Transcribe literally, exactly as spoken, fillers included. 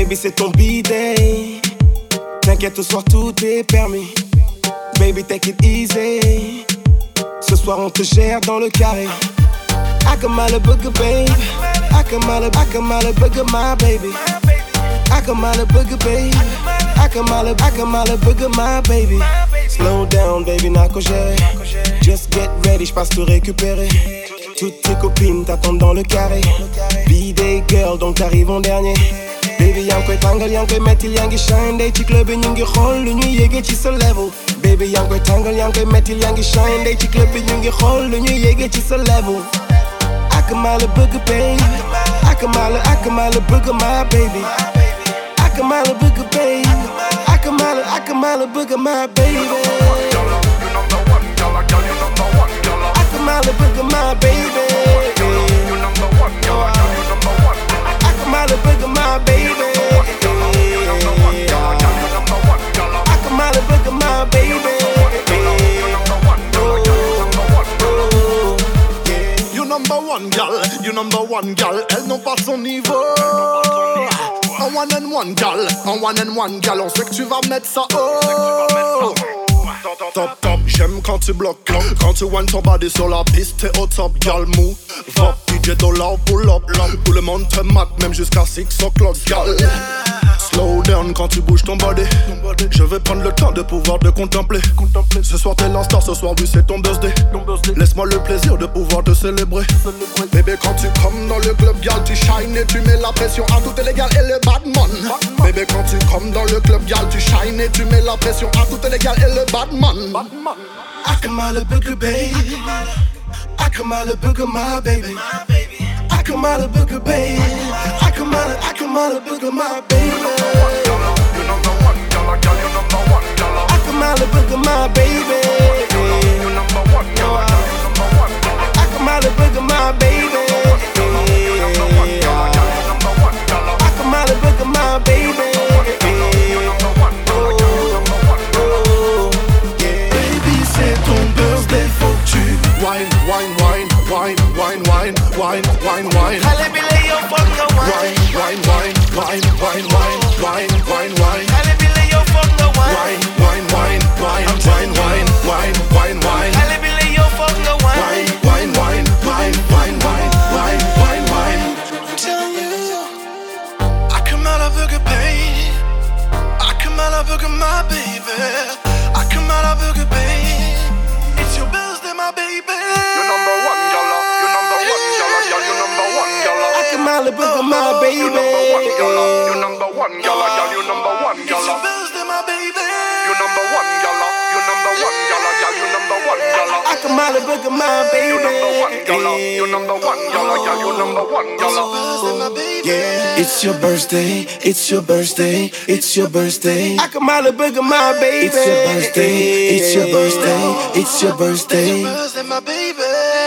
Baby, c'est ton B-day. T'inquiète, ce soir tout est permis. Baby, take it easy. Ce soir, on te gère dans le carré. I can mile a booger, babe. I can mile a, I can mile a booger, my baby. I can mile a booger, babe. I can mile a, I can mile a booger, my baby. Slow down, baby, n'a qu'au gérer. Just get ready, j'passe te récupérer. Toutes tes copines t'attendent dans le carré. B-day girl, donc t'arrives en dernier. Baby, yang koy tàngal, yang koy mettil, yang ngi shine. Day ci club bi ñu ngi xool lu ñuy yéege ci sa level. Baby, yang koy tàngal, yang koy mettil, yang ngi shine. Day ci club bi ñu ngi xool lu ñuy yéege ci sa level. I can mile a booger, baby. I can mile a, I can mile a booger, my baby. I can mile a booger, baby. I can mile a, I can mile a booger, my baby. I can mile a booger, my baby. I can mile a booger, my baby. I can mile a booger, my baby. You number one gal, you number one gal. Elle n'ont pas son niveau. Un one and one gal, un one and one gal. On sait que tu vas mettre ça haut. Top top, j'aime quand tu bloques là. Quand tu one ton body sur la piste, t'es au top, gal move. Va, D J dollar, pull up, tout le monde te mate, même jusqu'à six o'clock, gal. Slow down quand tu bouges ton body. Je vais prendre le temps de pouvoir te contempler. Ce soir t'es la star, ce soir oui c'est ton birthday. Laisse-moi le plaisir de pouvoir te célébrer. Bébé quand tu comes dans le club, gal, tu shine et tu mets la pression à toutes les gals et le badman. Bébé quand tu comes dans le club, gal, tu shine et tu mets la pression à toutes les gals et le badman. I can mile a booger, baby. I can mile a booger, my baby. I can mile a booger, baby. I can mile a, I can mile a booger, my baby. You number one, gala, gal, you number one, gala. I can mile a booger, my baby. You number one, gala, gal, you number one, gala. I can mile a booger, my baby. You number one, gala, gal, you number one, gala. I can mile a booger, my baby. You number one, gala, gal, you number one, gala. Baby, c'est ton birthday, faut que tu Wine, wine, wine, wine, wine, wine, wine, wine, wine. Allez, billet, yo, fuck the wine. Wine, wine, wine, wine, wine, wine, wine, wine. Allez, billet, yo, fuck the wine. Wine, wine, wine, wine, wine, wine, wine, wine, wine. Allez, billet, yo, fuck the wine. Wine, wine, wine, wine, wine, wine, wine, wine. I'm telling you, I come out of Booger, baby. I come out of Booger, my baby. I come out of Booger, baby. It's your birthday, my baby. You number one, gala. You number one, gala, gal. You number one, gala. I come out of Booger, my baby. You number one, gala. You number one, gala, gal. You number one, It's your gala. birthday, my baby. You number one, gala. You number one, gala, gal. You number one, gala. I come out of Booger, my baby. You number one, gala. You number one, gala, gal. You number one, gala. Yeah, it's your birthday, it's your birthday, it's your birthday. I come out of Booger, my baby. It's your birthday, it's your birthday, it's your birthday. It's your birthday, my baby.